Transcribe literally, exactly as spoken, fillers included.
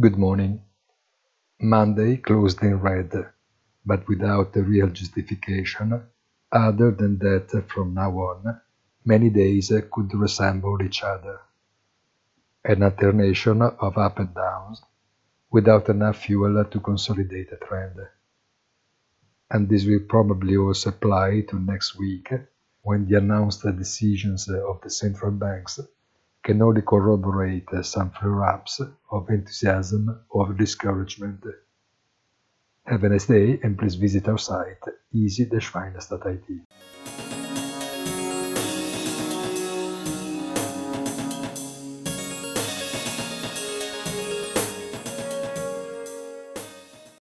Good morning. Monday closed in red, but without a real justification, other than that from now on, many days could resemble each other. An alternation of up and downs, without enough fuel to consolidate a trend. And this will probably also apply to next week, when the announced decisions of the central banks can only corroborate some flare-ups of enthusiasm or of discouragement. Have a nice day and please visit our site easy dash finance dot I T.